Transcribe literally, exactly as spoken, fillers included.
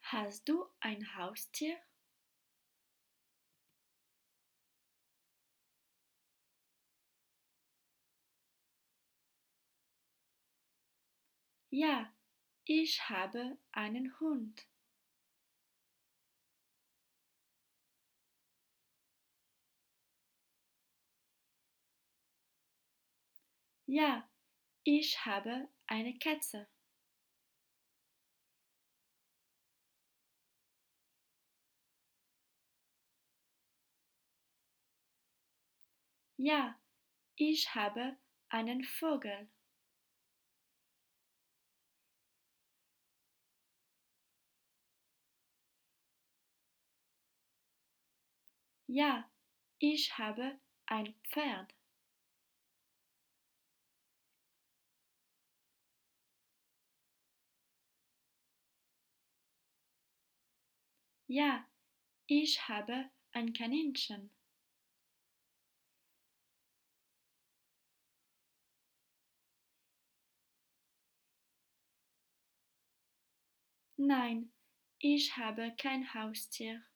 Hast du ein Haustier? Ja, ich habe einen Hund. Ja, ich habe eine Katze. Ja, ich habe einen Vogel. Ja, ich habe ein Pferd. Ja, ich habe ein Kaninchen. Nein, ich habe kein Haustier.